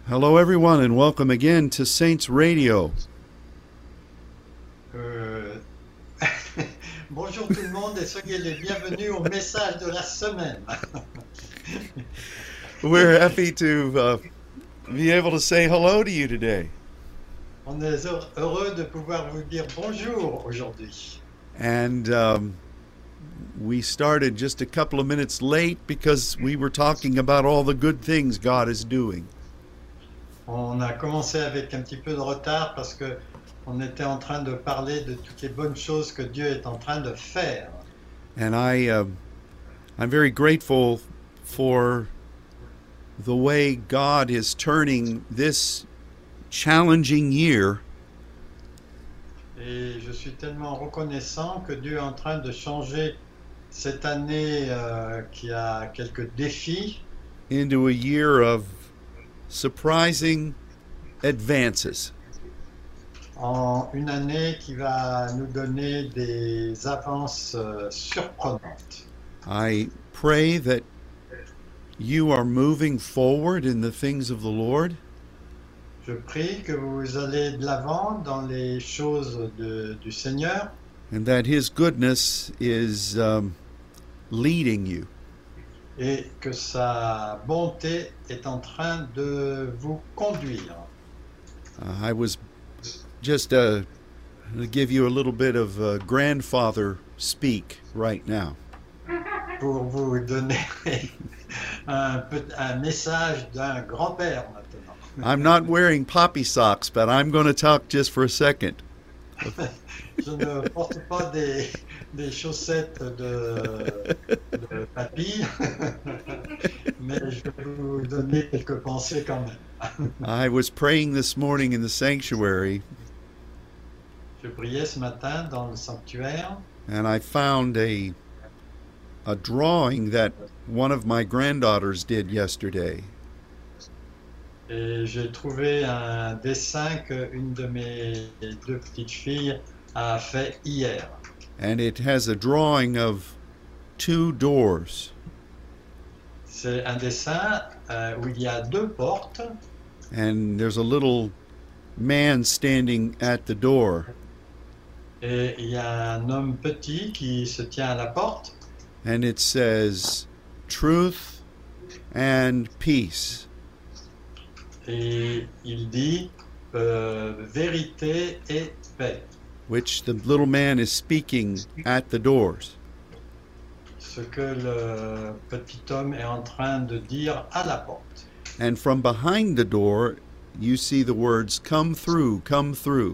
Hello, everyone, and welcome again to Saints Radio. Euh, Bonjour tout le monde et soyez les bienvenus au message de la semaine. We're happy to be able to say hello to you today. On est heureux de pouvoir vous dire bonjour aujourd'hui. And we started just a couple of minutes late because we were talking about all the good things God is doing. On a commencé avec un petit peu de retard parce que on était en train de parler de toutes les bonnes choses que Dieu est en train de faire. And I'm very grateful for the way God is turning this challenging year Et je suis tellement reconnaissant que Dieu est en train de changer cette année qui a quelques défis into a year of surprising advances. en une année qui va nous donner des avances surprenantes. I pray that you are moving forward in the things of the Lord, Je prie que vous allez de l'avant dans les choses du Seigneur and that His goodness is leading you. et que sa bonté est en train de vous conduire. I was just to give you a little bit of grandfather speak right now. Pour vous donner un message d'un grand-père maintenant. I'm not wearing poppy socks, but I'm going to talk just for a second. Je ne porte pas des chaussettes de papy, mais je vais vous donner quelques pensées quand même. I was praying this morning in the sanctuary, Je priais ce matin dans le sanctuaire and I found a drawing that one of my granddaughters did yesterday. et j'ai trouvé un dessin qu'une de mes deux petites filles a fait hier. And it has a drawing of two doors. C'est un dessin où il y a deux portes And there's a little man standing at the door. et il y a un homme petit qui se tient à la porte And it says, truth and peace. et il dit vérité et paix. Which the little man is speaking at the doors. Ce que le petit homme est en train de dire à la porte. And from behind the door, you see the words, come through, come through.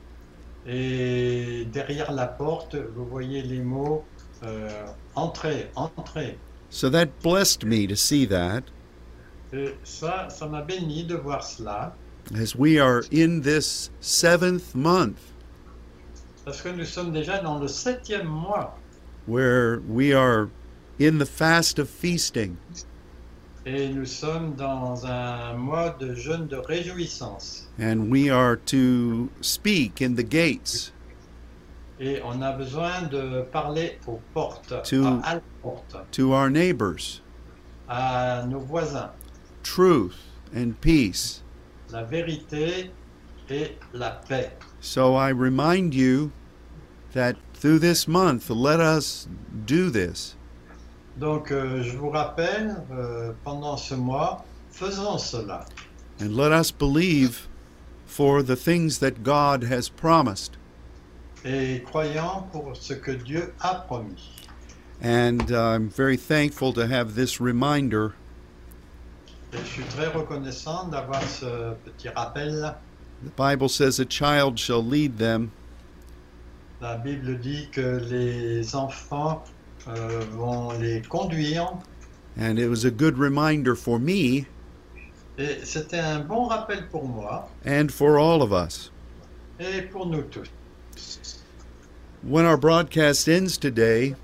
Et derrière la porte, vous voyez les mots entrez, entrez. So that blessed me to see that Et ça m'a béni de voir cela, as we are in this 7th month parce que nous sommes déjà dans le 7e mois where we are in the fast of feasting. et nous sommes dans un mois de jeûne de réjouissance. And we are to speak in the gates, Et on a besoin de parler aux portes, To- à la porte, to our neighbors, à nos voisins, truth and peace. la vérité et la paix. So I remind you that through this month, let us do this. Donc je vous rappelle, pendant ce mois, faisons cela. And let us believe for the things that God has promised. Et croyons pour ce que Dieu a promis. And I'm very thankful to have this reminder Et je suis très reconnaissant d'avoir ce petit rappel. The Bible says a child shall lead them, La Bible dit que les enfants vont les conduire. and it was a good reminder for me Et c'était un bon rappel pour moi and for all of us. et pour nous tous. When our broadcast ends today,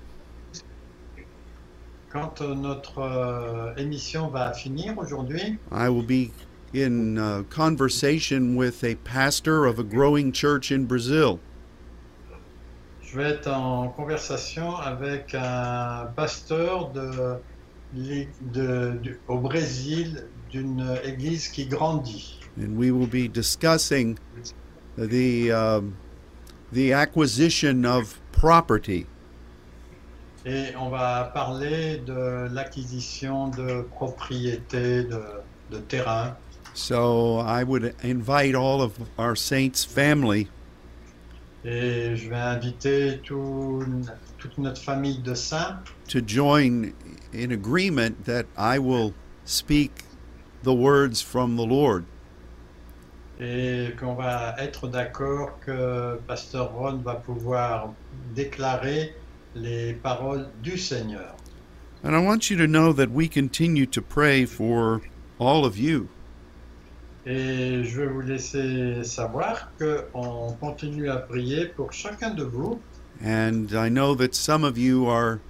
Quand notre émission va finir aujourd'hui, I will be in conversation with a pastor of a growing church in Brazil. je vais être en conversation avec un pasteur au Brésil d'une église qui grandit. And we will be discussing the acquisition of property. Et on va parler de l'acquisition de propriétés, de terrain. So I would invite all of our saints' family Et je vais inviter toute notre famille de saints to join in agreement that I will speak the words from the Lord. et qu'on va être d'accord que Pasteur Ron va pouvoir déclarer les paroles du Seigneur. And I want you to know that we continue to pray for all of you. Et je vais vous laisser savoir qu'on continue à prier pour chacun de vous. And I know that some of you are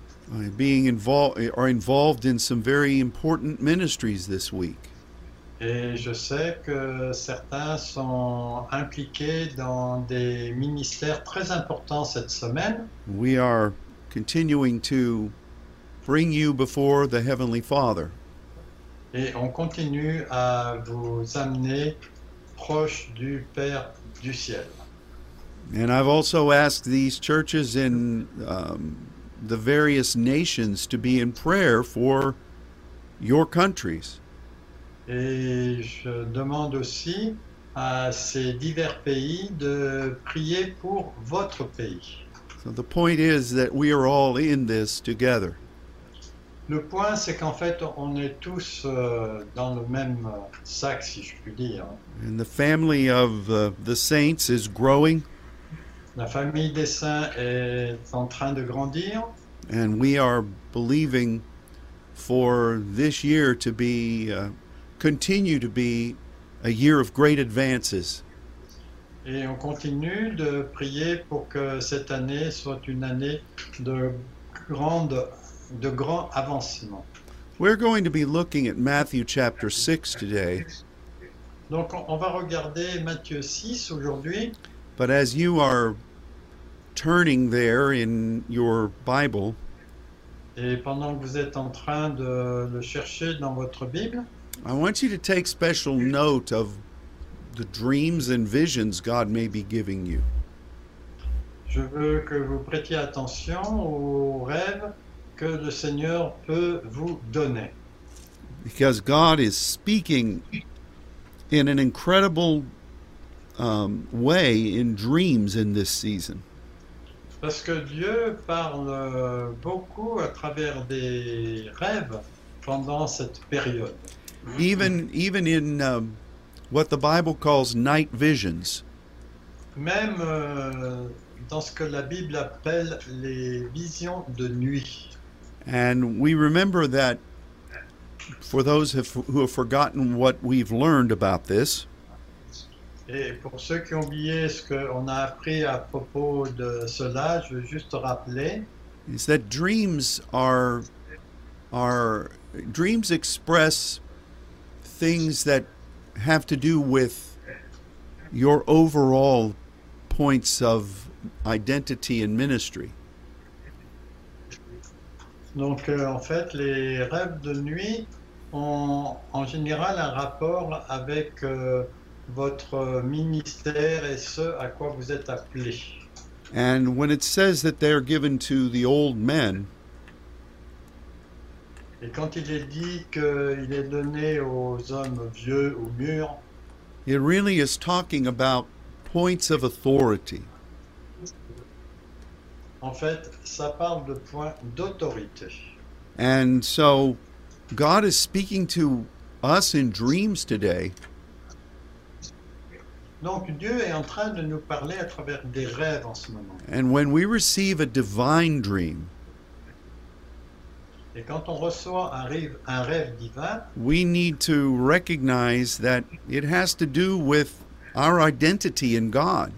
involved in some very important ministries this week. Et je sais que certains sont impliqués dans des ministères très importants cette semaine. We are continuing to bring you before the Heavenly Father. Et on continue à vous amener proche du Père du ciel. And I've also asked these churches in the various nations to be in prayer for your countries. Et je demande aussi à ces divers pays de prier pour votre pays. So the point is that we are all in this together. Le point, c'est qu'en fait, on est tous dans le même sac, si je puis dire. And the family of the saints is growing, La famille des saints est en train de grandir. and we are believing for this year to be continue to be a year of great advances. Et on continue de prier pour que cette année soit une année de grand avancement. We're going to be looking at Matthew chapter 6 today, Donc on va regarder Matthieu 6 aujourd'hui. but as you are turning there in your Bible, Et pendant que vous êtes en train de le chercher dans votre Bible, I want you to take special note of the dreams and visions God may be giving you. je veux que vous prêtiez attention aux rêves que le Seigneur peut vous donner. Because God is speaking in an incredible way in dreams in this season. Parce que Dieu parle beaucoup à travers des rêves pendant cette période. Even in what the Bible calls night visions. Même dans ce que la Bible appelle les visions de nuit. And we remember that for those who have forgotten what we've learned about this, Et pour ceux qui ont oublié ce qu'on a appris à propos de cela, je veux juste rappeler is that dreams dreams express things that have to do with your overall points of identity and ministry. Donc en fait, les rêves de nuit ont en général un rapport avec votre ministère et ce à quoi vous êtes appelé. And when it says that they're given to the old men, Et quand il est dit qu'il est donné aux hommes vieux ou mûrs, it really is talking about points of authority. en fait, ça parle de points d'autorité. And so God is speaking to us in dreams today. Donc Dieu est en train de nous parler à travers des rêves en ce moment. And when we receive a divine dream, Et quand on reçoit un rêve divin, we need to recognize that it has to do with our identity in God.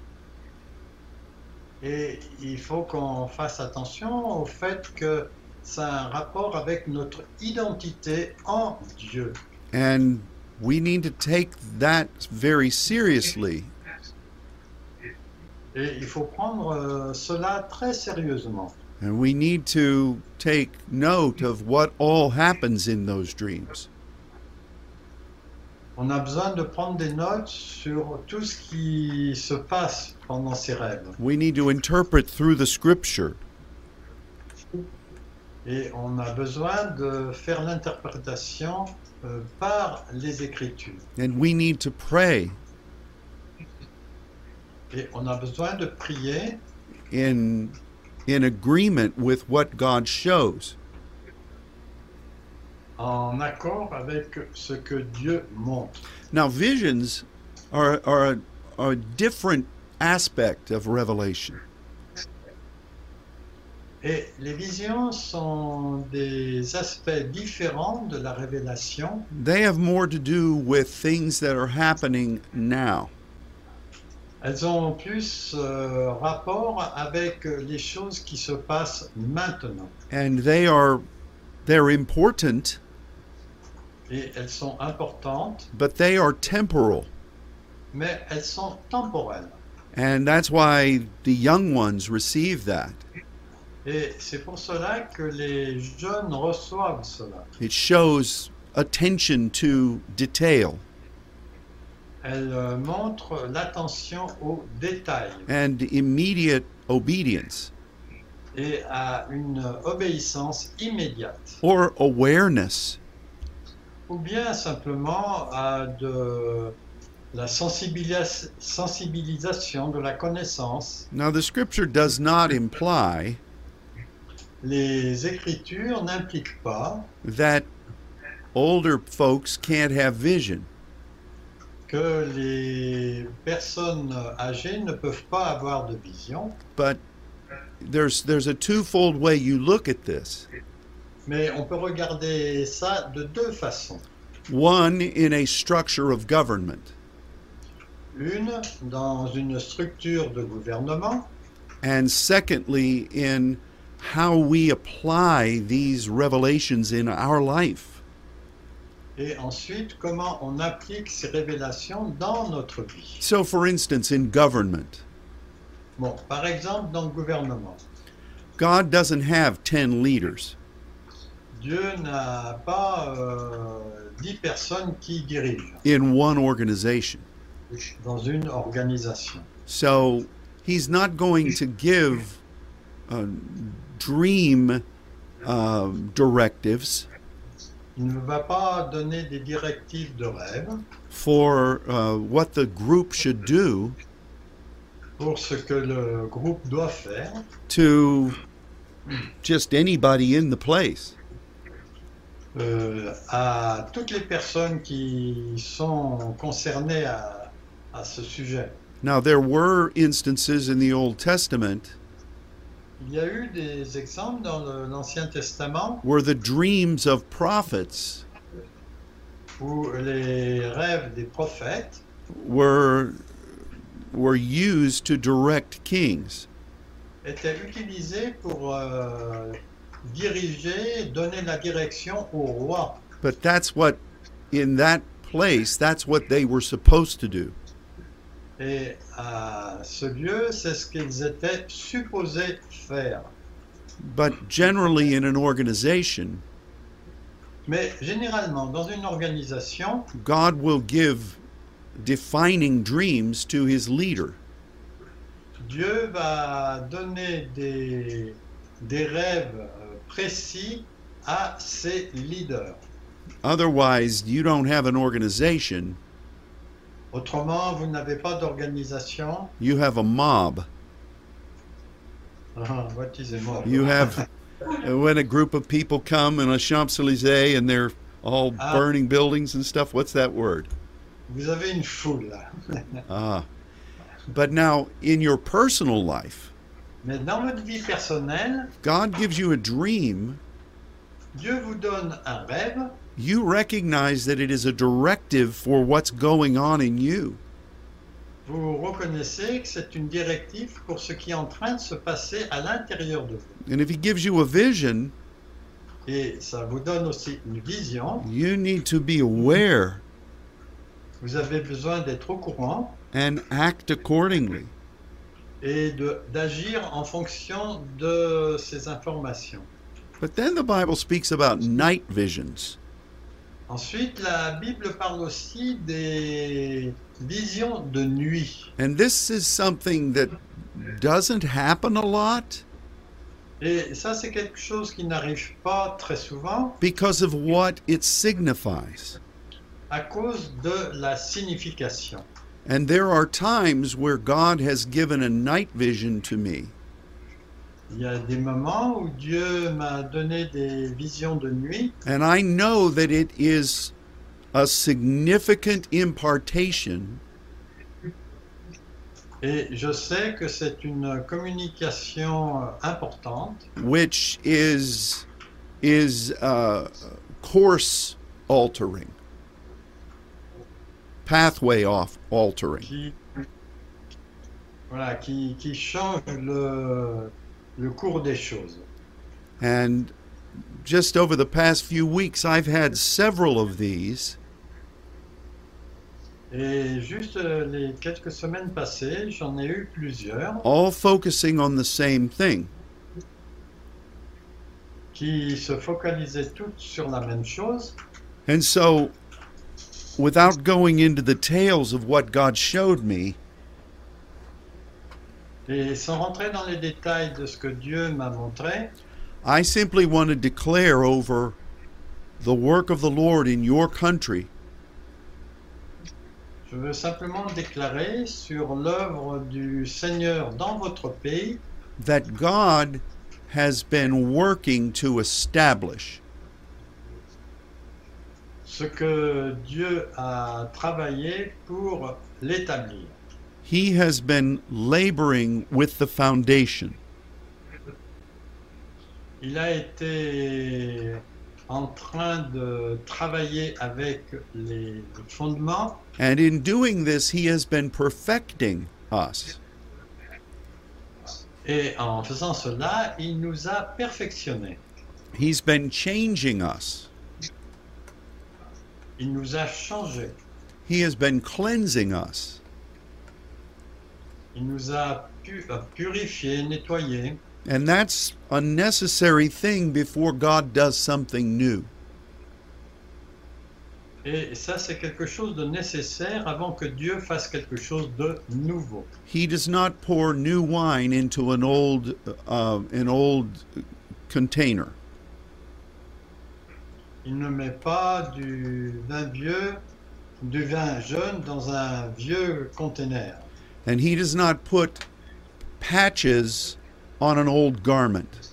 et il faut qu'on fasse attention au fait que ça a un rapport avec notre identité en Dieu. And we need to take that very seriously. Et il faut prendre cela très sérieusement. And we need to take note of what all happens in those dreams. On a besoin de prendre des notes sur tout ce qui se passe pendant ces rêves. We need to interpret through the scripture. Et on a besoin de faire l'interprétation par les Écritures. And we need to pray Et on a besoin de prier in agreement with what God shows. en accord avec ce que Dieu montre. Now, visions are a different aspect of revelation. Et les visions sont des aspects différents de la révélation. They have more to do with things that are happening now. Elles ont plus rapport avec les choses qui se passent maintenant. And they're important, Et elles sont importantes, but they are temporal. mais elles sont temporelles. And that's why the young ones receive that. Et c'est pour cela que les jeunes reçoivent cela. It shows attention to detail Elles montrent l'attention aux détails and immediate obedience et à une obéissance immédiate. or awareness. Ou bien simplement à de la sensibilisation de la connaissance. Now, the scripture does not imply Les Écritures n'impliquent pas that older folks can't have vision. que les personnes âgées ne peuvent pas avoir de vision, But there's a twofold way you look at this. mais on peut regarder ça de deux façons. One, in a structure of government, Une, dans une structure de gouvernement, and secondly, in how we apply these revelations in our life. et ensuite comment on applique ces révélations dans notre vie. So, for instance, in government, Bon, par exemple, dans le gouvernement, God doesn't have 10 leaders. Dieu n'a pas 10 personnes qui dirigent In one organization. dans une organisation. So, he's not going to give dream directives Il ne va pas donner des directives de rêve for what the group should do pour ce que le groupe doit faire to just anybody in the place. à toutes les personnes qui sont concernées à ce sujet. Now, there were instances in the Old Testament Il y a eu des exemples dans l'Ancien Testament where the dreams of prophets où les rêves des prophètes were used to direct kings. étaient utilisés pour diriger, donner la direction au roi. But that's what, in that place, that's what they were supposed to do. Et à ce lieu, c'est ce qu'ils étaient supposés faire. But generally, in an organization, Mais généralement, dans une organisation, God will give defining dreams to his leader. Dieu va donner des rêves précis à ses leaders. Otherwise, you don't have an organization, Autrement, vous n'avez pas d'organisation. you have a mob. What is a mob? You have, when a group of people come in a Champs-Élysées and they're all burning buildings and stuff, what's that word? Vous avez une foule. But now, in your personal life, Mais dans votre vie personnelle, God gives you a dream. Dieu vous donne un rêve. You recognize that it is a directive for what's going on in you. Vous reconnaissez que c'est une directive pour ce qui est en train de se passer à l'intérieur de vous. And if he gives you a vision, Et ça vous donne aussi une vision. you need to be aware Vous avez besoin d'être au courant and act accordingly. et d'agir en fonction de ces informations. But then the Bible speaks about night visions. Ensuite, la Bible parle aussi des visions de nuit. And this is something that doesn't happen a lot Et ça, c'est quelque chose qui n'arrive pas très souvent because of what it signifies. à cause de la signification. And there are times where God has given a night vision to me, Il y a des moments où Dieu m'a donné des visions de nuit and I know that it is a significant impartation et je sais que c'est une communication importante which is course altering, pathway altering. qui, voilà, qui change le cours des choses. And just over the past few weeks, I've had several of these, Et juste les quelques semaines passées, j'en ai eu plusieurs all focusing on the same thing. qui se focalisaient toutes sur la même chose. And so, without going into the tales of what God showed me, Et sans rentrer dans les détails de ce que Dieu m'a montré, I simply want to declare over the work of the Lord in your country je veux simplement déclarer sur l'œuvre du Seigneur dans votre pays that God has been working to establish. ce que Dieu a travaillé pour l'établir. He has been laboring with the foundation. Il a été en train de travailler avec les fondements And in doing this, He has been perfecting us. et en faisant cela, il nous a perfectionnés. He's been changing us. Il nous a changés. He has been cleansing us. Il nous a purifiés, nettoyés. And that's a necessary thing before God does something new. Et ça, c'est quelque chose de nécessaire avant que Dieu fasse quelque chose de nouveau. He does not pour new wine into an old container. Il ne met pas du vin vieux, du vin jeune dans un vieux conteneur. And He does not put patches on an old garment.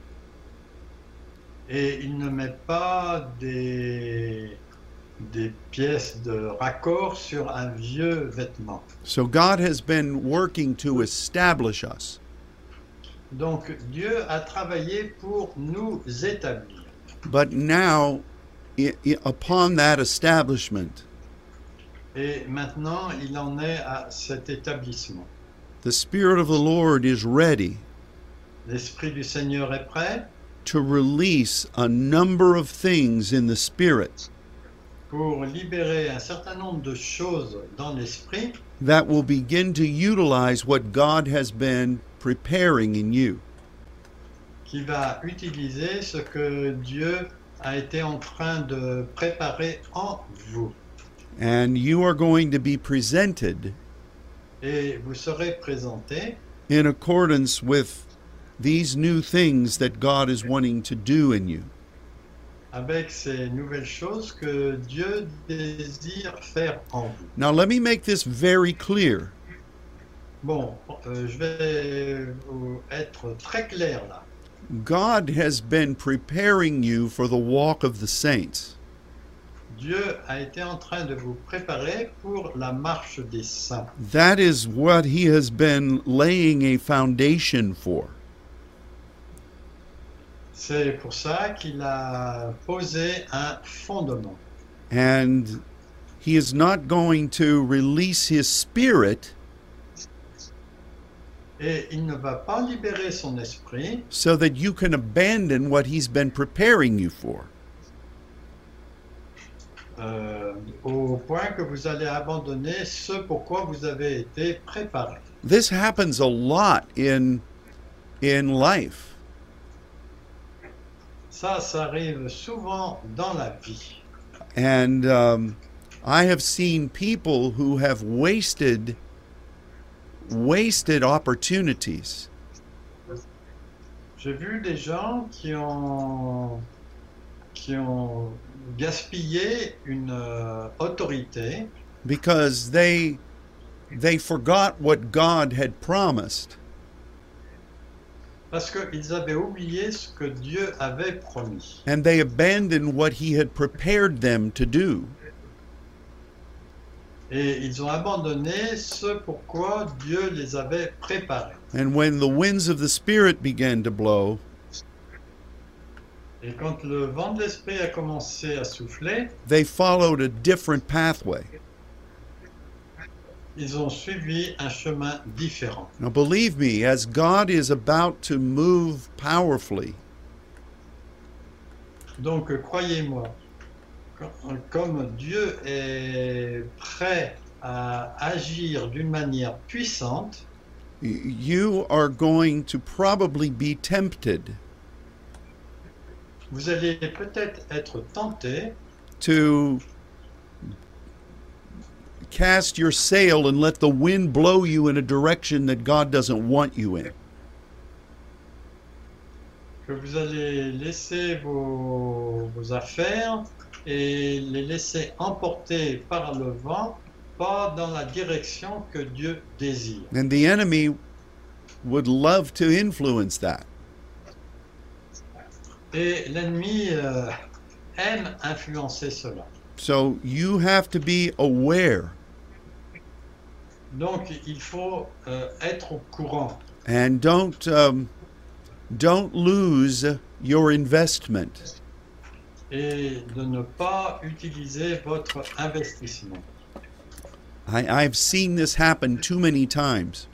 Et il ne met pas des pièces de raccord sur un vieux vêtement. So God has been working to establish us. Donc Dieu a travaillé pour nous établir. But now, upon that establishment, Et maintenant, il en est à cet établissement. the Spirit of the Lord is ready L'Esprit du Seigneur est prêt to release a number of things in the Spirit pour libérer un certain nombre de choses dans l'Esprit that will begin to utilize what God has been preparing in you. qui va utiliser ce que Dieu a été en train de préparer en vous. And you are going to be presented Et vous serez présentés in accordance with these new things that God is wanting to do in you. avec ces nouvelles choses que Dieu désire faire en vous. Now, let me make this very clear. Bon, je vais être très clair là. God has been preparing you for the walk of the saints. Dieu a été en train de vous préparer pour la marche des saints. That is what He has been laying a foundation for. C'est pour ça qu'il a posé un fondement. And He is not going to release His Spirit Et il ne va pas libérer son esprit so that you can abandon what He's been preparing you for. Au point que vous allez abandonner ce pourquoi vous avez été préparé. This happens a lot in life. Ça arrive souvent dans la vie. And I have seen people who have wasted opportunities J'ai vu des gens qui ont gaspillé une autorité because they forgot what God had promised, parce qu'ils avaient oublié ce que Dieu avait promis. and they abandoned what He had prepared them to do. Et ils ont abandonné ce pourquoi Dieu les avait préparés. And when the winds of the Spirit began to blow, Et quand le vent de l'esprit a commencé à souffler, they followed a different pathway. ils ont suivi un chemin différent. Now, believe me, as God is about to move powerfully, Donc croyez-moi, comme Dieu est prêt à agir d'une manière puissante, you are going to probably be tempted vous allez peut-être être tenté to cast your sail and let the wind blow you in a direction that God doesn't want you in. que vous allez laisser vos affaires et les laisser emporter par le vent, pas dans la direction que Dieu désire. And the enemy would love to influence that. Et l'ennemi aime influencer cela. So you have to be aware Donc il faut être au courant and don't lose your investment. et de ne pas utiliser votre investissement. I've seen this happen too many times.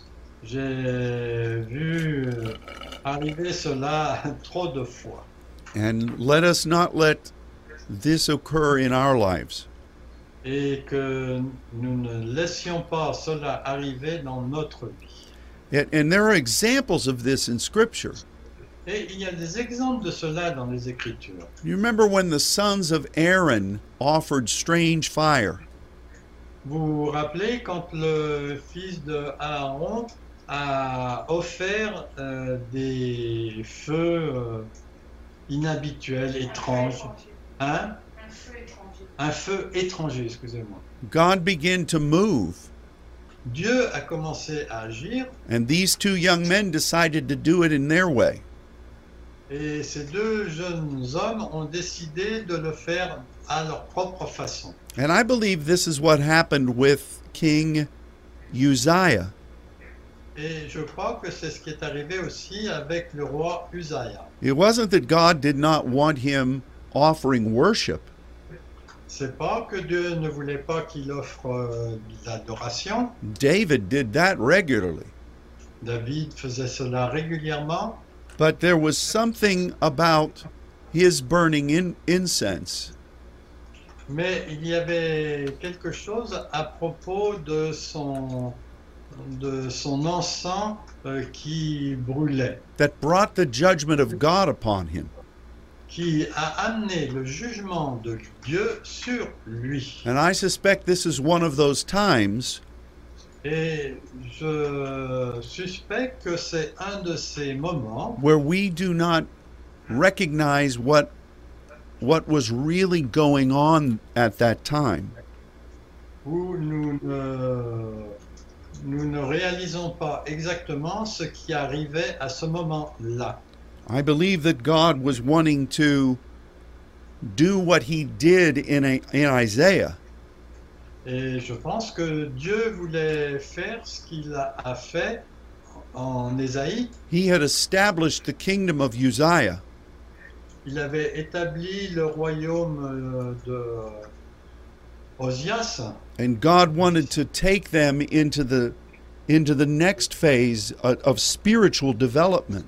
J'ai vu arriver cela trop de fois. And let us not let this occur in our lives. Et que nous ne laissions pas cela arriver dans notre vie. And there are examples of this in Scripture. Et il y a des exemples de cela dans les Écritures. You remember when the sons of Aaron offered strange fire? Vous vous rappelez quand le fils de Aaron a offert des feux inhabituels, étranges. Hein? Un feu étranger. Un feu étranger, excusez-moi. God began to move, Dieu a commencé à agir and these two young men decided to do it in their way. et ces deux jeunes hommes ont décidé de le faire à leur propre façon. And I believe this is what happened with King Uzziah. Et je crois que c'est ce qui est arrivé aussi avec le roi Usaïa. It wasn't that God did not want him offering worship. C'est pas que Dieu ne voulait pas qu'il offre de l'adoration. David did that regularly. David faisait cela régulièrement. But there was something about his burning incense Mais il y avait quelque chose à propos de son encens qui brûlait, that brought the judgment of God upon him. qui a amené le jugement de Dieu sur lui. And I suspect this is one of those times Et je suspecte que c'est un de ces moments where we do not recognize what was really going on at that time. où nous ne réalisons pas exactement ce qui arrivait à ce moment-là. I believe that God was wanting to do what he did in Isaiah. Et je pense que Dieu voulait faire ce qu'il a fait en Ésaïe. He had established the kingdom of Uzziah, Il avait établi le royaume de Osias and God wanted to take them into the next phase of spiritual development.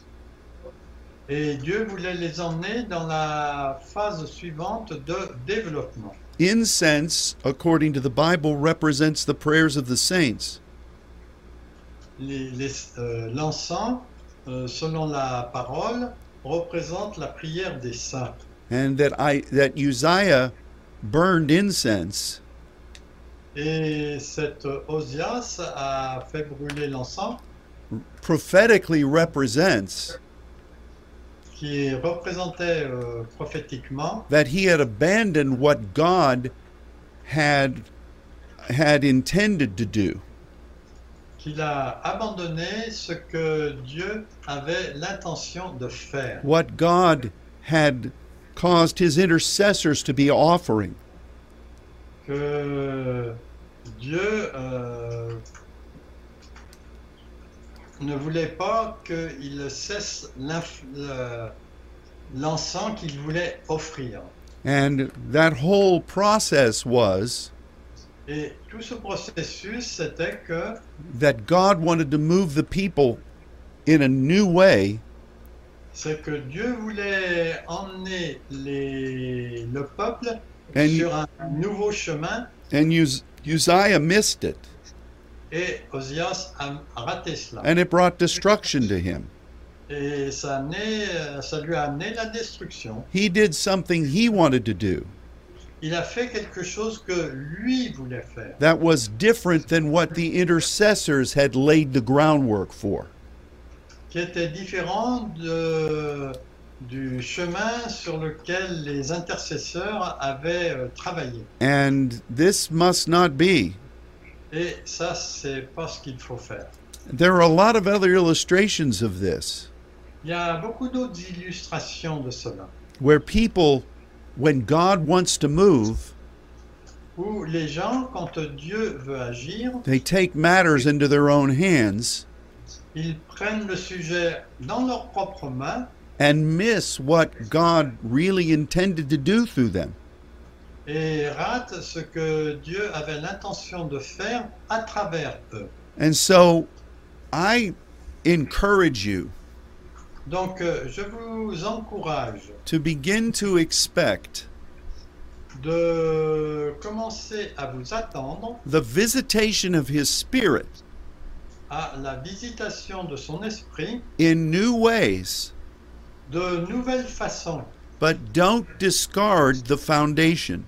et Dieu voulait les emmener dans la phase suivante de développement. Incense, according to the Bible, represents the prayers of the saints. L'encens, selon la parole, représente la prière des saints. and that Uzziah burned incense Et cet Osias a fait brûler l'encens prophetically represents qui représentait prophétiquement that he had abandoned what God had intended to do. qu'il a abandonné ce que Dieu avait l'intention de faire, What God had caused his intercessors to be offering. que Dieu ne voulait pas qu'il cesse l'encens qu'il voulait offrir. And that whole process was Et tout ce processus, c'était que that God wanted to move the people in a new way, c'est que Dieu voulait emmener le peuple And- sur un nouveau chemin, and Uzziah missed it, et Osias a raté cela. and it brought destruction to him. Et ça lui a amené la destruction. He did something he wanted to do Il a fait quelque chose que lui voulait faire, that was different than what the intercessors had laid the groundwork for. qui était différent du chemin sur lequel les intercesseurs avaient travaillé. And this must not be. Et ça, c'est pas ce qu'il faut faire. There are a lot of other illustrations of this Il y a beaucoup d'autres illustrations de cela, where people, when God wants to move, où les gens, quand Dieu veut agir, they take matters into their own hands ils prennent le sujet dans leurs propres mains and miss what God really intended to do through them. et ratent ce que Dieu avait l'intention de faire à travers eux. And so I encourage you Donc, je vous encourage to begin to expect de commencer à vous attendre the visitation of His Spirit à la visitation de son esprit in new ways, de nouvelles façons, but don't discard the foundation.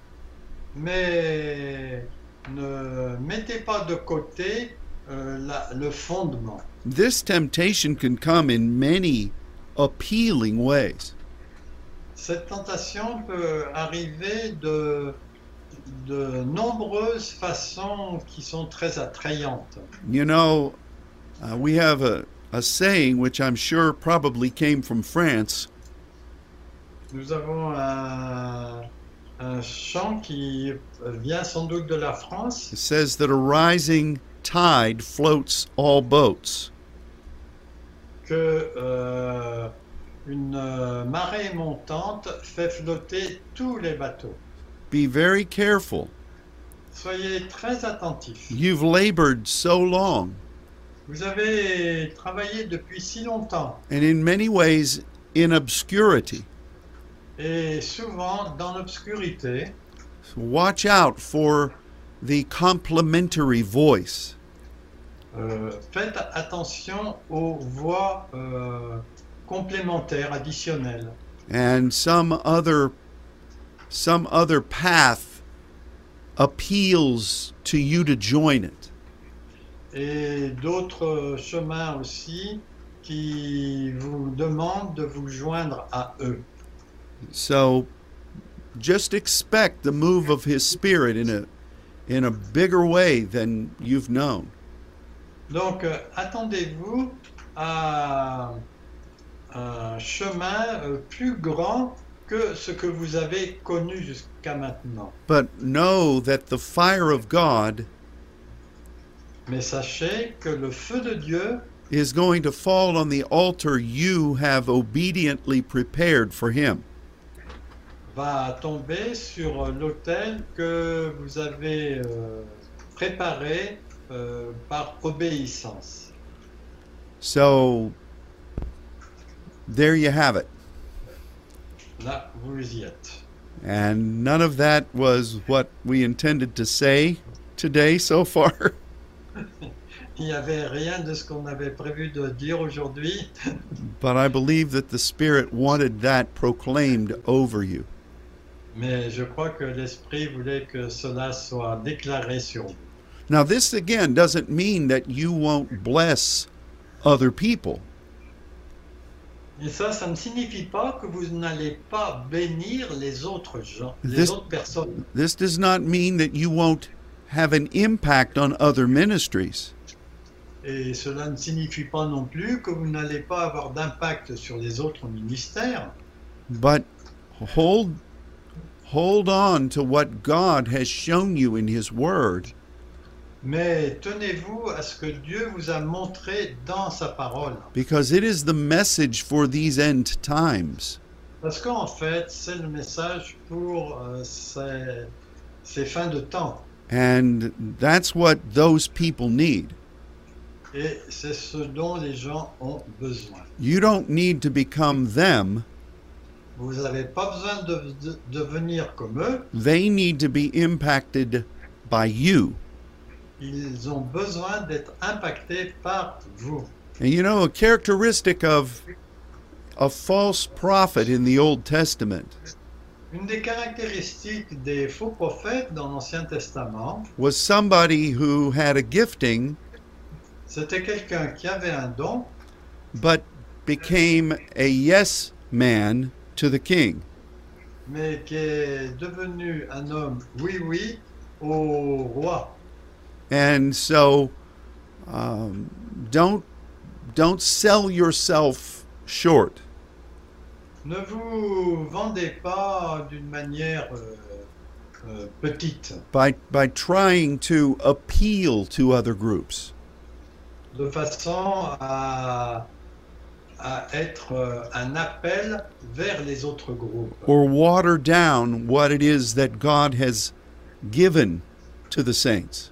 mais ne mettez pas de côté le fondement. This temptation can come in many appealing ways. Cette tentation peut arriver de nombreuses façons qui sont très attrayantes. You know, we have a saying which I'm sure probably came from France. Nous avons un chant qui vient sans doute de la France It says that a rising tide floats all boats. que une marée montante fait flotter tous les bateaux. Be very careful. Soyez très attentifs. You've labored so long, Vous avez travaillé depuis si longtemps and in many ways in obscurity. et souvent dans l'obscurité. Watch out for the complementary voice. Faites attention aux voix complémentaires, additionnelles. And some other path appeals to you to join it. Et d'autres chemins aussi qui vous demandent de vous joindre à eux. So just expect the move of His Spirit in a bigger way than you've known. Donc, attendez-vous à un chemin plus grand que ce que vous avez connu jusqu'à maintenant. But know that the fire of God Mais sachez que le feu de Dieu is going to fall on the altar you have obediently prepared for Him. va tomber sur l'autel que vous avez préparé par obéissance. So there you have it. Là, vous y êtes. And none of that was what we intended to say today so far. Il n'y avait rien de ce qu'on avait prévu de dire aujourd'hui, But I believe that the Spirit wanted that proclaimed over you. mais je crois que l'Esprit voulait que cela soit déclaré sur vous. Now, this again doesn't mean that you won't bless other people. Et ça ne signifie pas que vous n'allez pas bénir les autres gens, les This- autres personnes. This does not mean that you won't have an impact on other ministries. Et cela ne signifie pas non plus que vous n'allez pas avoir d'impact sur les autres ministères. But hold on to what God has shown you in His Word, Mais tenez-vous à ce que Dieu vous a montré dans sa parole. because it is the message for these end times. Parce qu'en fait, c'est le message pour ces fins de temps. And that's what those people need. Et c'est ce dont les gens ont besoin. You don't need to become them. Vous n'avez pas besoin de devenir comme eux. They need to be impacted by you. Ils ont besoin d'être impactés par vous. And you know, a characteristic of a false prophet in the Old Testament Une des caractéristiques des faux prophètes dans l'Ancien Testament, was somebody who had a gifting c'était quelqu'un qui avait un don, but became a yes man to the king. mais qui est devenu un homme oui au roi. And so don't sell yourself short. Ne vous vendez pas d'une manière petite, By trying to appeal to other groups. de façon à être un appel vers les autres groupes, Or water down what it is that God has given to the saints.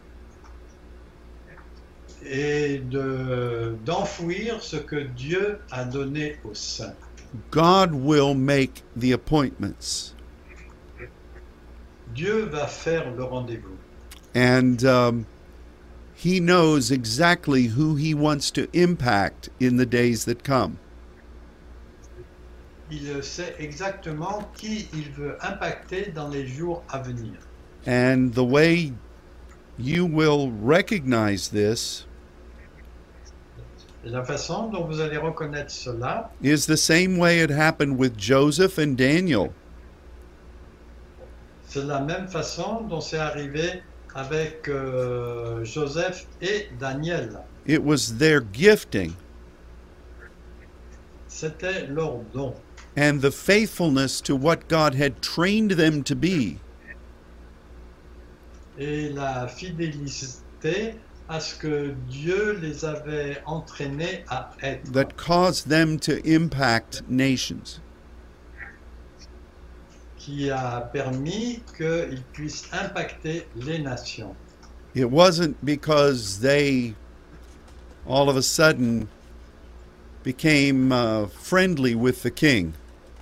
et d'enfouir ce que Dieu a donné aux saints. God will make the appointments. Dieu va faire le rendez-vous. And He knows exactly who He wants to impact in the days that come. Il sait exactement qui il veut impacter dans les jours à venir. And the way you will recognize this Et la façon dont vous allez reconnaître cela, is the same way it happened with Joseph and Daniel. c'est la même façon dont c'est arrivé avec Joseph et Daniel. It was their gifting C'était leur don. and the faithfulness to what God had trained them to be Et la fidélité à ce que Dieu les avait entraînés à être, that caused them to impact nations. qui a permis qu'ils puissent impacter les nations. It wasn't because they all of a sudden became friendly with the king.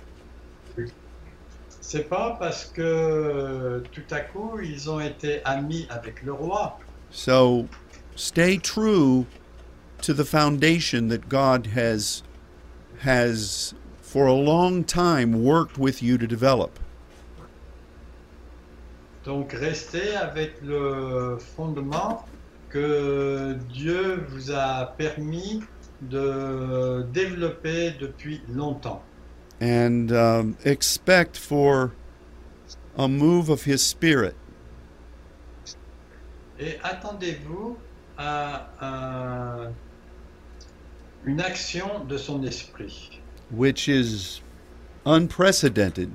C'est pas parce que tout à coup ils ont été amis avec le roi. So stay true to the foundation that God has for a long time worked with you to develop. Donc restez avec le fondement que Dieu vous a permis de développer depuis longtemps. And expect for a move of His Spirit Et attendez-vous à une action de son esprit which is unprecedented,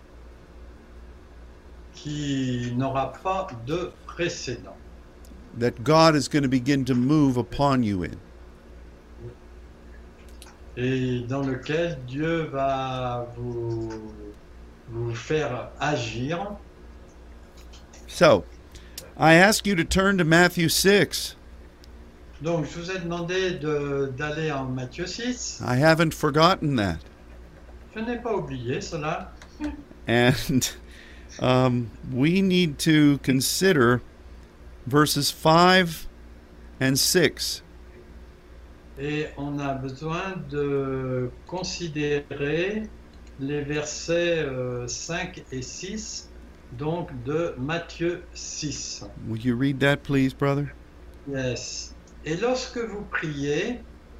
qui n'aura pas de précédent, that God is going to begin to move upon you in. et dans lequel Dieu va vous faire agir. So, I ask you to turn to Matthew 6. Donc je vous ai demandé d'aller en Matthieu 6. I haven't forgotten that. Je n'ai pas oublié cela. And we need to consider verses 5 and 6. Et on a besoin de considérer les versets 5 et 6 donc de Matthieu 6. Will you read that, please, brother? Yes. Et lorsque vous priez,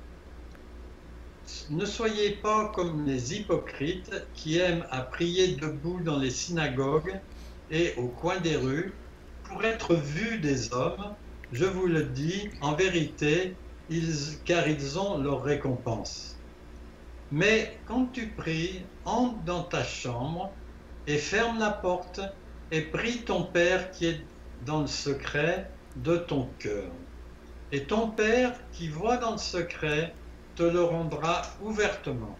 ne soyez pas comme les hypocrites qui aiment à prier debout dans les synagogues et au coin des rues pour être vus des hommes. Je vous le dis, en vérité, car ils ont leur récompense. Mais quand tu pries, entre dans ta chambre et ferme la porte et prie ton Père qui est dans le secret de ton cœur. Et ton Père qui voit dans le secret te le rendra ouvertement.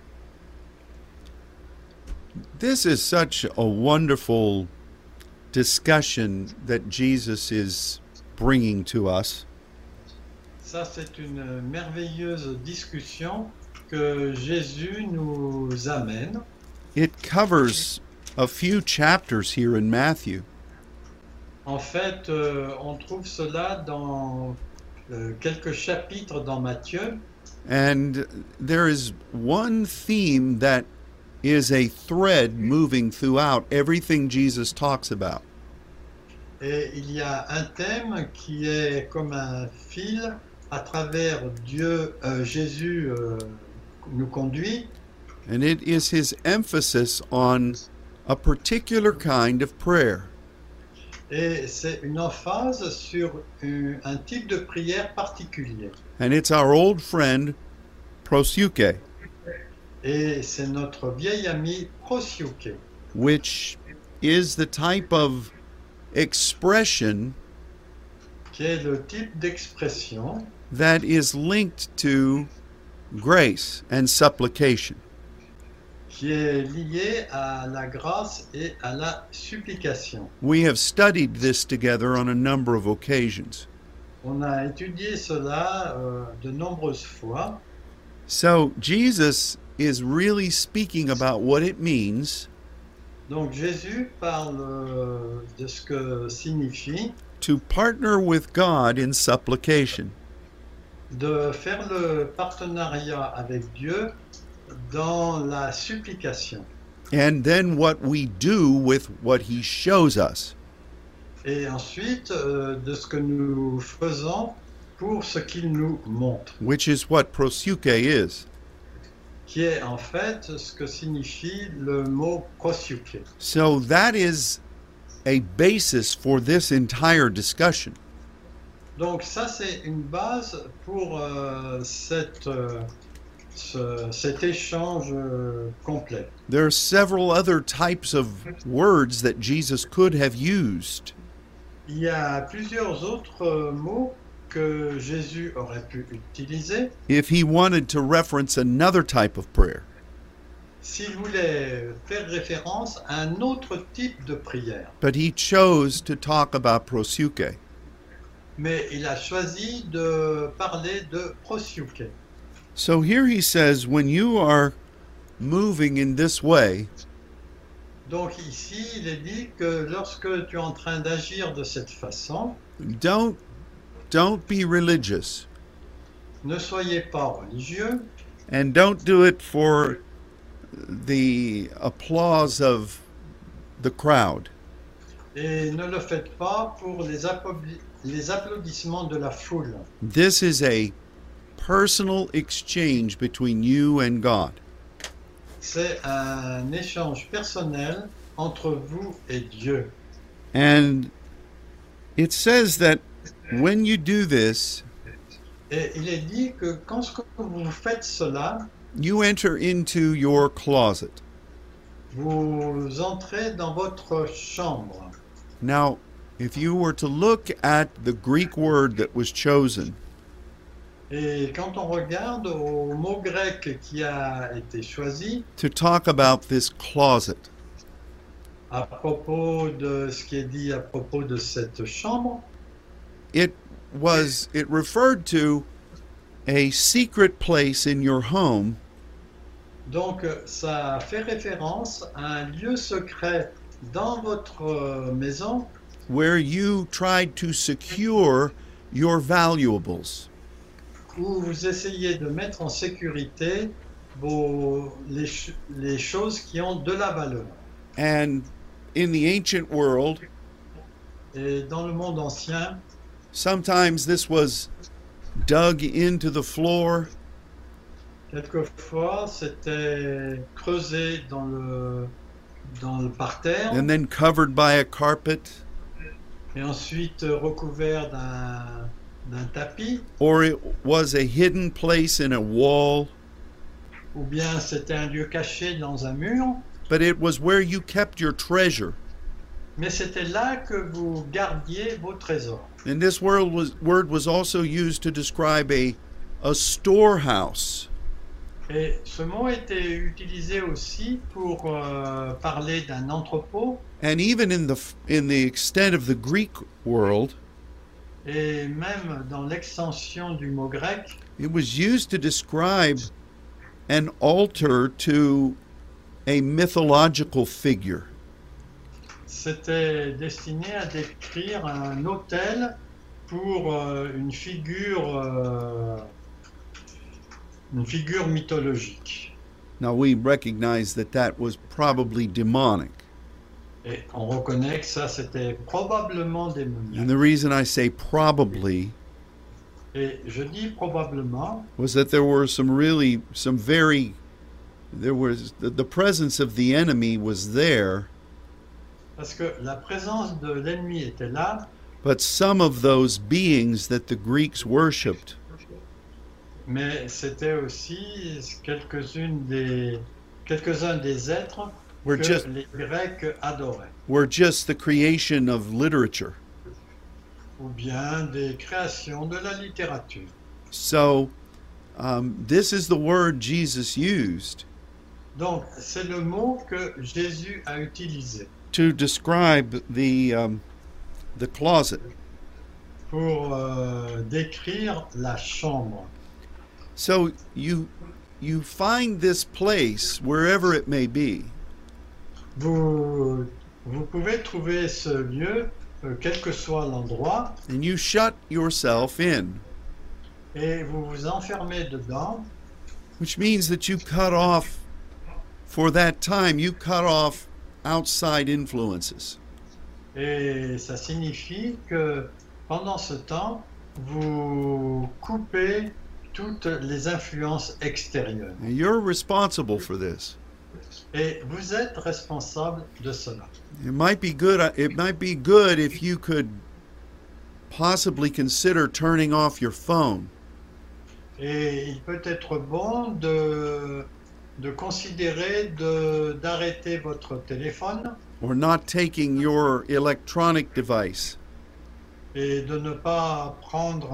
This is such a wonderful discussion that Jesus is bringing to us. Ça, c'est une merveilleuse discussion que Jésus nous amène. It covers a few chapters here in Matthew. En fait, on trouve cela dans quelques chapitres dans Matthieu. And there is one theme that is a thread moving throughout everything Jesus talks about. Et il y a un thème qui est comme un fil à travers Jésus nous conduit. And it is his emphasis on a particular kind of prayer. Et c'est une emphase sur un type de prière particulier. And it's our old friend, proseuche, Et c'est notre vieil ami proseuche, which is the type of expression qui est le type d'expression that is linked to grace and supplication. qui est lié à la grâce et à la supplication. We have studied this together on a number of occasions. On a étudié cela de nombreuses fois. So Jesus is really speaking about what it means Donc Jésus parle de ce que signifie to partner with God in supplication. de faire le partenariat avec Dieu dans la supplication. And then what we do with what he shows us. Et ensuite, de ce que nous faisons pour ce qu'il nous montre, Which is what proseuche is. qui est en fait ce que signifie le mot proseuche. So that is a basis for this entire discussion. Donc ça, c'est une base pour cet échange complet. There are several other types of words that Jesus could have used. Il y a plusieurs autres mots que Jésus aurait pu utiliser if he wanted to reference another type of prayer. s'il voulait faire référence à un autre type de prière. But he chose to talk about proseuche. Mais il a choisi de parler de proseuche. So here he says, when you are moving in this way, Donc ici, il est dit que lorsque tu es en train d'agir de cette façon, don't be religious, ne soyez pas religieux and don't do it for the applause of the crowd. et ne le faites pas pour les applaudissements de la foule. This is a personal exchange between you and God. C'est un échange personnel entre vous et Dieu. And it says that when you do this, Et il est dit que quand vous faites cela, you enter into your closet. vous entrez dans votre chambre. Now, if you were to look at the Greek word that was chosen, Et quand on regarde au mot grec qui a été choisi to talk about this closet, à propos de ce qui est dit à propos de cette chambre, it referred to a secret place in your home donc ça fait référence à un lieu secret dans votre maison where you tried to secure your valuables. où vous essayez de mettre en sécurité les choses qui ont de la valeur. And in the ancient world, Et dans le monde ancien, sometimes this was dug into the floor, quelquefois, c'était creusé dans le parterre and then covered by a carpet, et ensuite recouvert d'un tapis, or it was a hidden place in a wall, ou bien c'était un lieu caché dans un mur, but it was where you kept your treasure. mais c'était là que vous gardiez vos trésors. And this word was also used to describe a storehouse. Et ce mot était utilisé aussi pour parler d'un entrepôt, And even in the extent of the Greek world, et même dans l'extension du mot grec, it was used to describe an altar to a mythological figure. c'était destiné à décrire un autel pour une figure mythologique. Now we recognize that was probably demonic. Et on reconnaît que ça, c'était probablement And démoniaque. the reason I say probably Et je dis probablement was that there were the presence of the enemy was there, parce que la présence de l'ennemi était là, but some of those beings that the Greeks worshipped mais c'était aussi quelques-uns des êtres were que just les Grecs adoraient, the creation of literature. ou bien des créations de la littérature. So this is the word Jesus used Donc, c'est le mot que Jésus a utilisé to describe the closet. pour décrire la chambre. So you find this place wherever it may be, Vous pouvez trouver ce lieu, quel que soit l'endroit, and you shut yourself in, et vous vous enfermez dedans, which means that you cut off, for that time, you cut off outside influences. et ça signifie que pendant ce temps, vous coupez toutes les influences extérieures. And you're responsible for this. Et vous êtes responsable de cela. It might be good if you could possibly consider turning off your phone. Et il peut être bon de considérer d'arrêter votre téléphone Or not taking your electronic device. et de ne pas prendre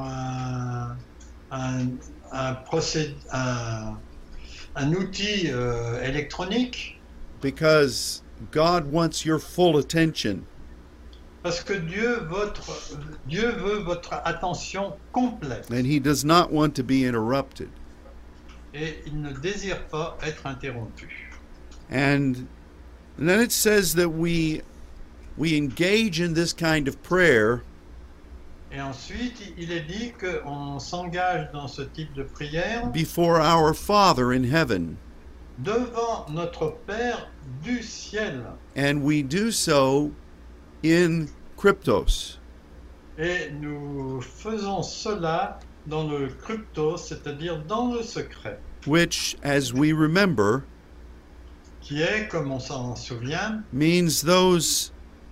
un outil électronique, Because God wants your full attention. parce que Dieu veut votre attention complète And He does not want to be interrupted. et il ne désire pas être interrompu. And then it says that we engage in this kind of prayer Et ensuite, il est dit qu'on s'engage dans ce type de prière before our Father in heaven. devant notre Père du ciel. And we do so in cryptos. Et nous faisons cela dans le crypto, c'est-à-dire dans le secret, Which, as we remember, qui est, comme on s'en souvient, means those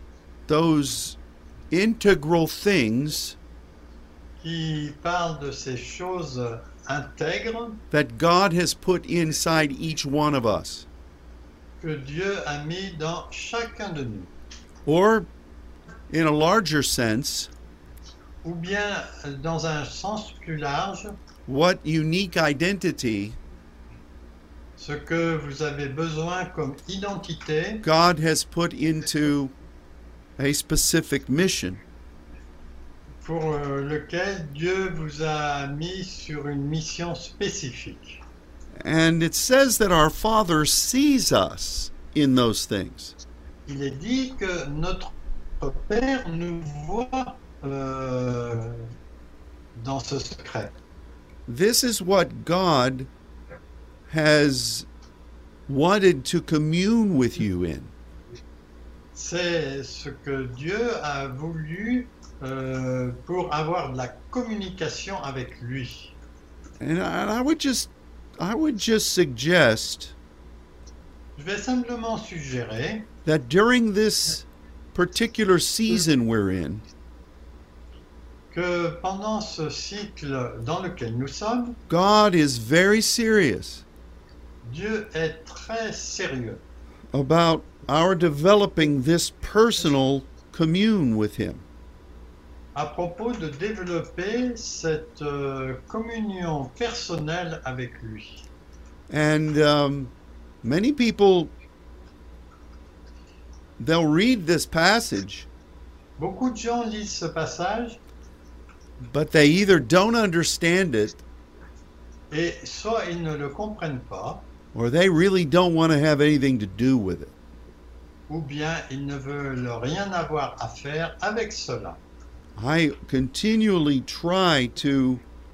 integral things qui parle de ces choses intègres that God has put inside each one of us. que Dieu a mis dans chacun de nous. Or, in a larger sense, Ou bien, dans un sens plus large, what unique identity ce que vous avez besoin comme identité God has put into a specific mission. pour lequel Dieu vous a mis sur une mission spécifique. And it says that our Father sees us in those things. Il est dit que notre Père nous voit dans ce secret. This is what God has wanted to commune with you in. C'est ce que Dieu a voulu pour avoir de la communication avec lui. And I would just suggest Je vais simplement suggérer that during this particular season we're in, que pendant ce cycle dans lequel nous sommes, God is very serious Dieu est très sérieux about our developing this personal commune with Him. à propos de développer cette communion personnelle avec lui. And many people, they'll read this passage, Beaucoup de gens lisent ce passage but they either don't understand it et soit ils ne le comprennent pas, or they really don't want to have anything to do with it. ou bien ils ne veulent rien avoir à faire avec cela. I continually try to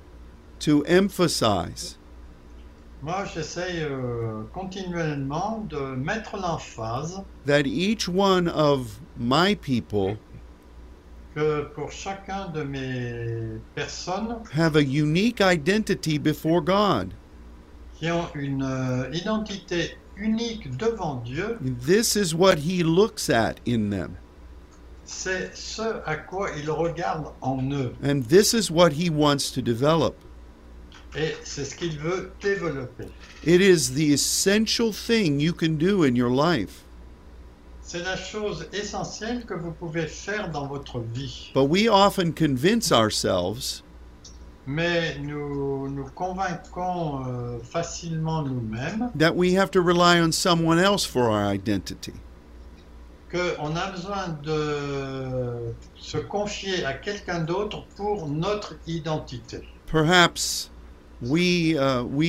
emphasize Moi, j'essaye continuellement de mettre l'emphase that each one of my people que pour chacun de mes personnes have a unique identity before God. qui ont une identité unique devant Dieu, This is what He looks at in them, c'est ce à quoi il regarde en eux. and this is what He wants to develop. Et c'est ce qu'il veut développer. It is the essential thing you can do in your life. C'est la chose essentielle que vous pouvez faire dans votre vie. But we often convince ourselves Mais nous nous convainquons facilement nous-mêmes that we have to rely on someone else for our identity. qu'on a besoin de se confier à quelqu'un d'autre pour notre identité. Perhaps we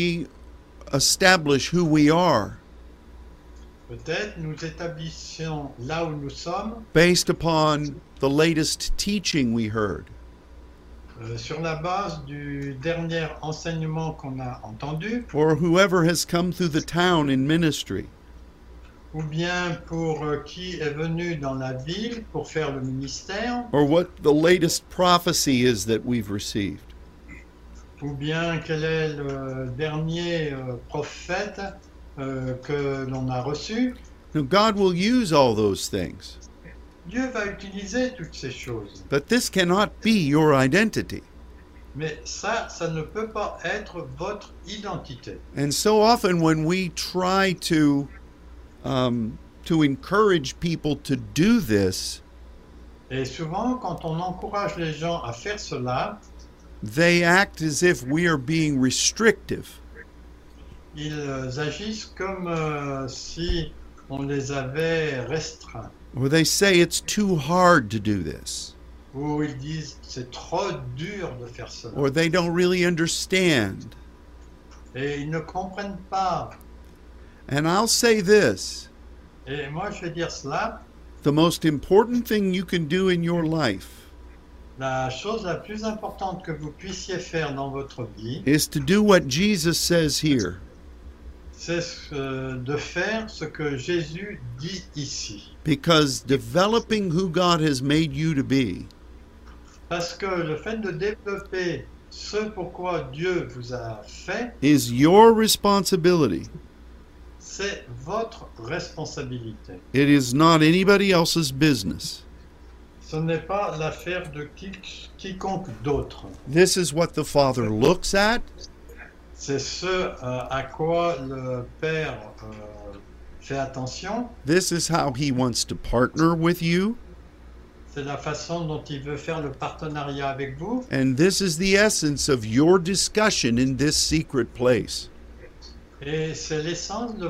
establish who we are Peut-être nous établissons là où nous sommes based upon the latest teaching we heard, sur la base du dernier enseignement qu'on a entendu, or whoever has come through the town in ministry, ou bien pour qui est venu dans la ville pour faire le ministère, or what the latest prophecy is that we've received. ou bien quel est le dernier prophète que l'on a reçu. Now, God will use all those things, Dieu va utiliser toutes ces choses. but this cannot be your identity. Mais ça ne peut pas être votre identité. And so often when we try to encourage people to do this, Et souvent, quand on encourage les gens à faire cela, they act as if we are being restrictive. ils agissent comme si on les avait restreints. Or they say it's too hard to do this. Ou ils disent c'est trop dur de faire cela. Or they don't really understand. Et ils ne comprennent pas. And I'll say this, Et moi, je vais dire cela. the most important thing you can do in your life La chose la plus importante que vous puissiez faire dans votre vie, is to do what Jesus says here. c'est de faire ce que Jésus dit ici. Because developing who God has made you to be Parce que le fait de développer ce pourquoi Dieu vous a fait, is your responsibility. c'est votre responsabilité. It is not anybody else's business. Ce n'est pas l'affaire de quiconque d'autre. This is what the Father looks at. C'est ce à quoi le Père fait attention. This is how He wants to partner with you. C'est la façon dont il veut faire le partenariat avec vous. And this is the essence of your discussion in this secret place. Et c'est l'essence de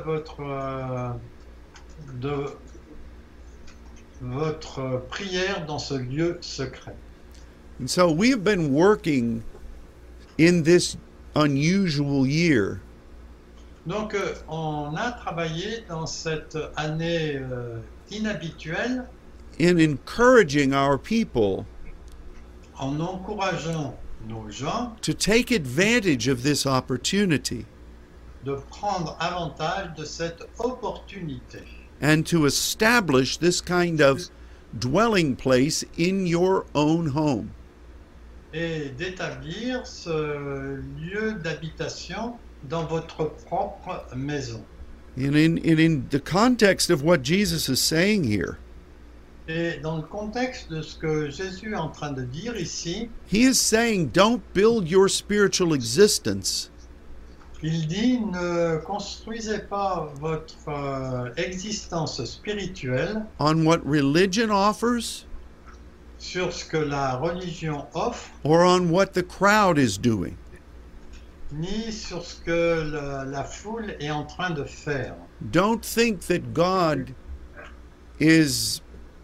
votre prière dans ce lieu secret. And so we have been working in this unusual year Donc on a travaillé dans cette année inhabituelle in encouraging our people en encourageant nos gens to take advantage of this opportunity. de prendre avantage de cette opportunité. and to establish this kind of dwelling place in your own home. et d'établir ce lieu d'habitation dans votre propre maison. And in the context of what Jesus is saying here, Et dans le contexte de ce que Jésus est en train de dire ici, he is saying, don't build your spiritual existence il dit ne construisez pas votre existence spirituelle on what religion offers sur ce que la religion offre, or on what the crowd is doing. ni sur ce que la foule est en train de faire. Don't think that God is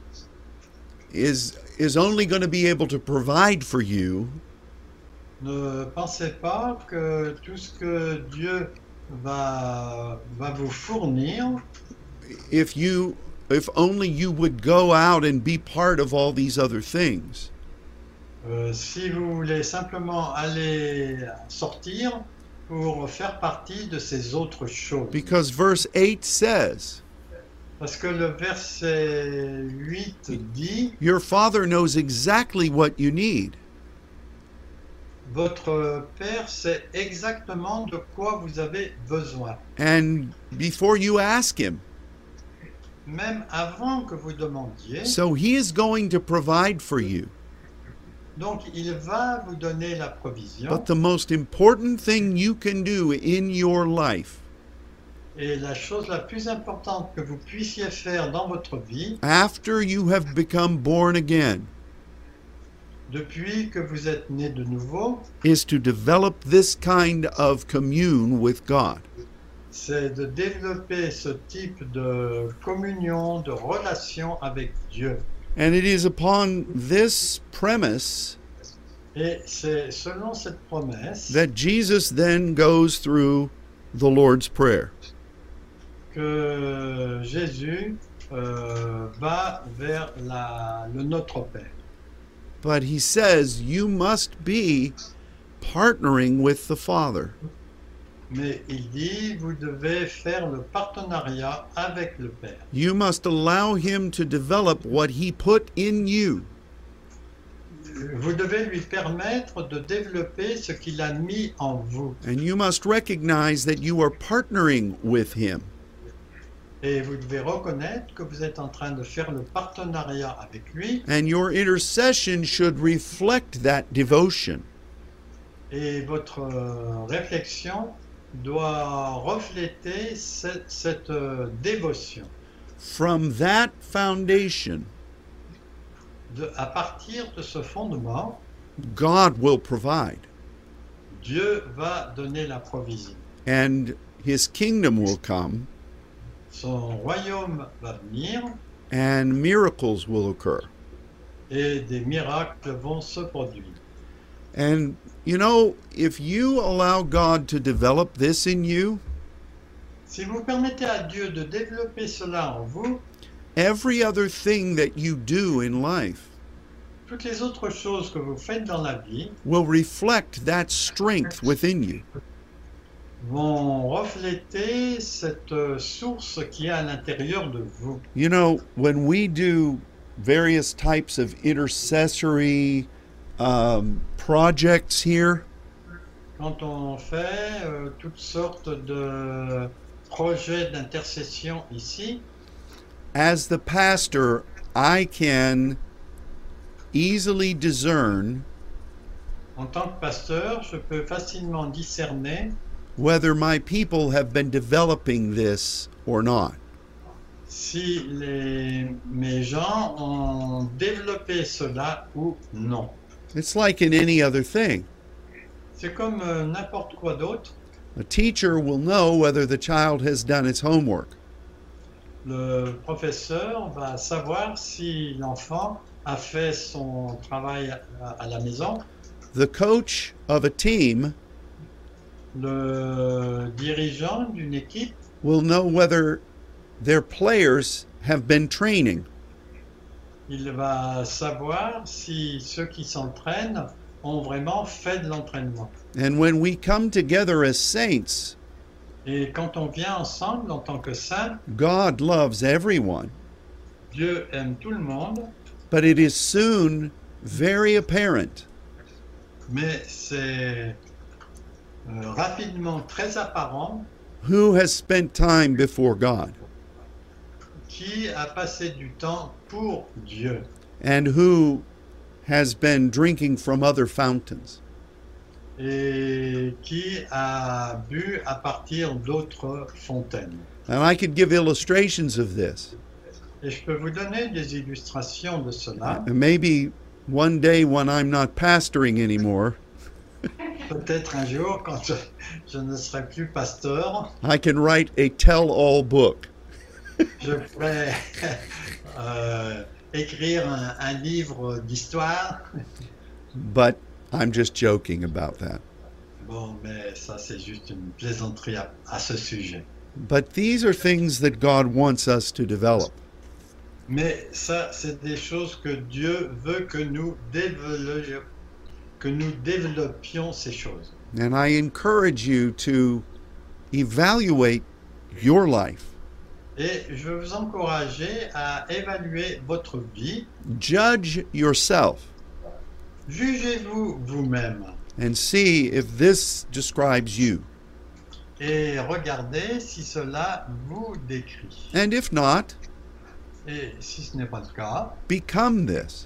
only going to be able to provide for you Ne pensez pas que tout ce que Dieu va vous fournir, if only you would go out and be part of all these other things. si vous voulez simplement aller sortir pour faire partie de ces autres choses. Because verse 8 says, Parce que le verset 8 dit, your Father knows exactly what you need. votre Père sait exactement de quoi vous avez besoin. And before you ask him. Même avant que vous demandiez. So he is going to provide for you. Donc il va vous donner la provision. But the most important thing you can do in your life, et la chose la plus importante que vous puissiez faire dans votre vie, after you have become born again, depuis que vous êtes né de nouveau, is to develop this kind of commune with God. c'est de développer ce type de communion, de relation avec Dieu. And it is upon this premise Et c'est selon cette promesse that Jesus then goes through the Lord's Prayer. que Jésus va vers le Notre Père. But he says you must be partnering with the Father. Mais il dit, vous devez faire le partenariat avec le Père. You must allow him to develop what he put in you. Vous devez lui permettre de développer ce qu'il a mis en vous. And you must recognize that you are partnering with him. Et vous devez reconnaître que vous êtes en train de faire le partenariat avec lui. And your intercession should reflect that devotion. Et votre réflexion doit refléter cette dévotion. From that foundation, À partir de ce fondement, God will provide, Dieu va donner la provision. and his kingdom will come, Son royaume va venir and miracles will occur. et des miracles vont se produire. And you know, if you allow God to develop this in you, Si vous permettez à Dieu de développer cela en vous, every other thing that you do in life toutes les autres choses que vous faites dans la vie will reflect that strength within you. vont refléter cette source qui est à l'intérieur de vous. You know, when we do various types of intercessory projects here, Quand on fait toutes sortes de projets d'intercession ici, as the pastor, I can easily discern en tant que pasteur, je peux facilement discerner whether my people have been developing this or not. si mes gens ont développé cela ou non. It's like in any other thing. C'est comme n'importe quoi d'autre. A teacher will know whether the child has done its homework. Le professeur va savoir si l'enfant a fait son travail à la maison. The coach of a team Le dirigeant d'une équipe will know whether their players have been training. il va savoir si ceux qui s'entraînent ont vraiment fait de l'entraînement. And when we come together as saints, Et quand on vient ensemble en tant que saints, God loves everyone, Dieu aime tout le monde, but it is soon very apparent mais c'est rapidement très apparent who has spent time before God qui a passé du temps pour Dieu and who has been drinking from other fountains. et qui a bu à partir d'autres fontaines. And I could give illustrations of this. Et je peux vous donner des illustrations de cela. And maybe one day when I'm not pastoring anymore, Peut-être un jour, quand je ne serai plus pasteur, I can write a tell-all book. je pourrais écrire un livre d'histoire. But I'm just joking about that. Bon, mais ça, c'est juste une plaisanterie à ce sujet. But these are things that God wants us to develop. Mais ça, c'est des choses que Dieu veut que nous développions ces choses. And I encourage you to evaluate your life. Et je veux vous encourager à évaluer votre vie. Judge yourself Jugez-vous vous-même and see if this describes you. et regardez si cela vous décrit. And if not, Et si ce n'est pas le cas, become this.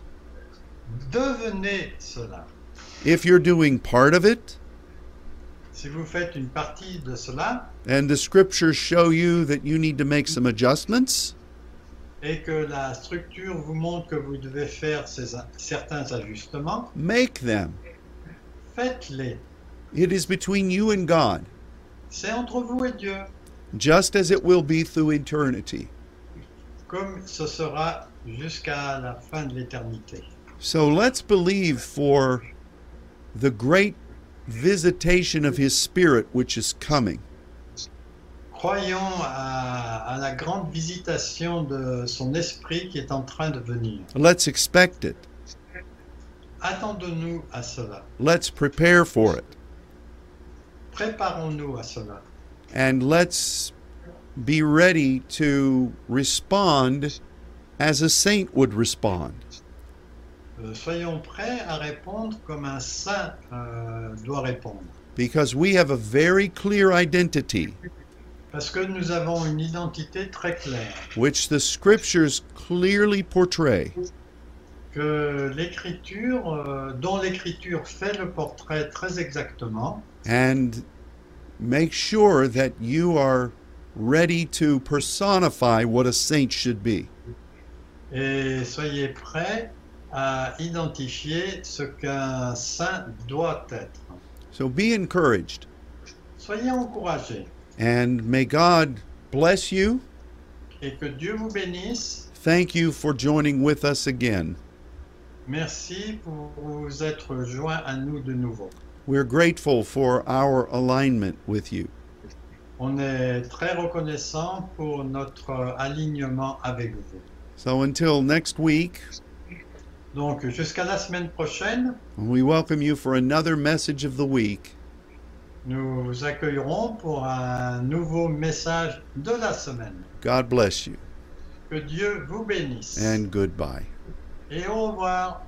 devenez cela. If you're doing part of it, Si vous faites une partie de cela and the scriptures show you that you need to make some adjustments, et que la structure vous montre que vous devez faire certains ajustements, make them. faites-les. It is between you and God, C'est entre vous et Dieu, just as it will be through eternity. comme ce sera jusqu'à la fin de l'éternité. So let's believe for the great visitation of His Spirit which is coming. Croyons à la grande visitation de son esprit qui est en train de venir. Let's expect it. Attendons-nous à cela. Let's prepare for it. Préparons-nous à cela. And let's be ready to respond as a saint would respond. Soyons prêts à répondre comme un saint doit répondre. Because we have a very clear identity, Parce que nous avons une identité très claire, which the scriptures clearly portray. que l'écriture, dont l'écriture fait le portrait très exactement, And make sure that you are ready to personify what a saint should be. et soyez prêts à identifier ce qu'un saint doit être. So be encouraged, Soyez encouragés and may God bless you. et que Dieu vous bénisse. Thank you for joining with us again. Merci pour vous être joints à nous de nouveau. We're grateful for our alignment with you. On est très reconnaissant pour notre alignement avec vous. So until next week, Donc jusqu'à la semaine prochaine, we welcome you for another message of the week. nous vous accueillerons pour un nouveau message de la semaine. God bless you, Que Dieu vous bénisse. and goodbye. Et au revoir.